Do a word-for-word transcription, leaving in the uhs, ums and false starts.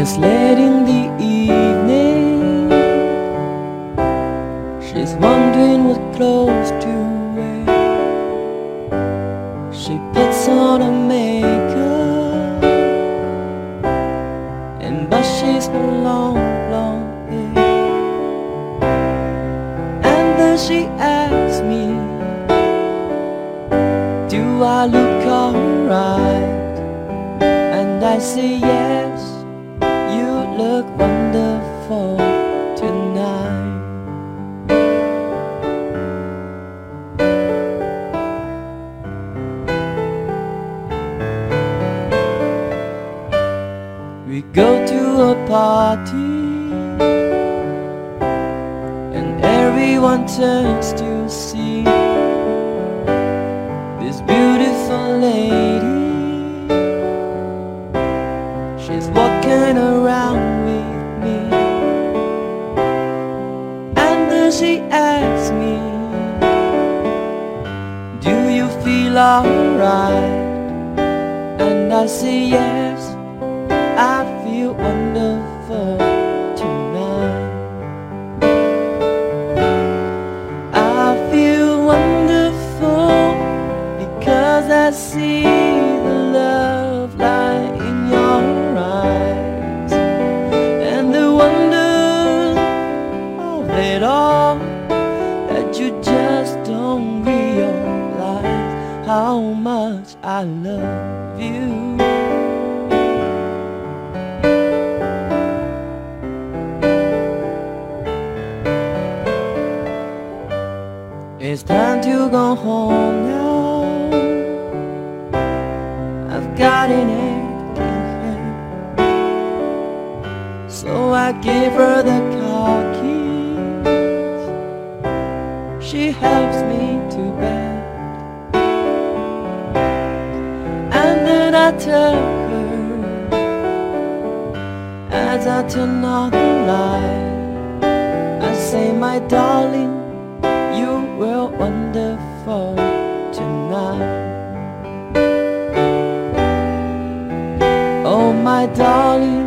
It's late in the evening. She's wondering what clothes to wear. She puts on her makeup and brushes her long blonde hair. And then she asks me, do I look alright? And I say yes, you look wonderful tonight. We go to a party and everyone turns to see this beautiful lady. She's walking around with me, and then she asks me, do you feel alright? And I say yes, I feel wonderful tonight. I feel wonderful because I see the love light in your eyes, and the wonder of it all, that you just don't realize how much I love you. It's time to go home now. I've got an aching head, so I give her the car keys. She helps me to bed, and then I tell her, as I turn on the light, I say, my darling, you were wonderful tonight. Oh, my darling,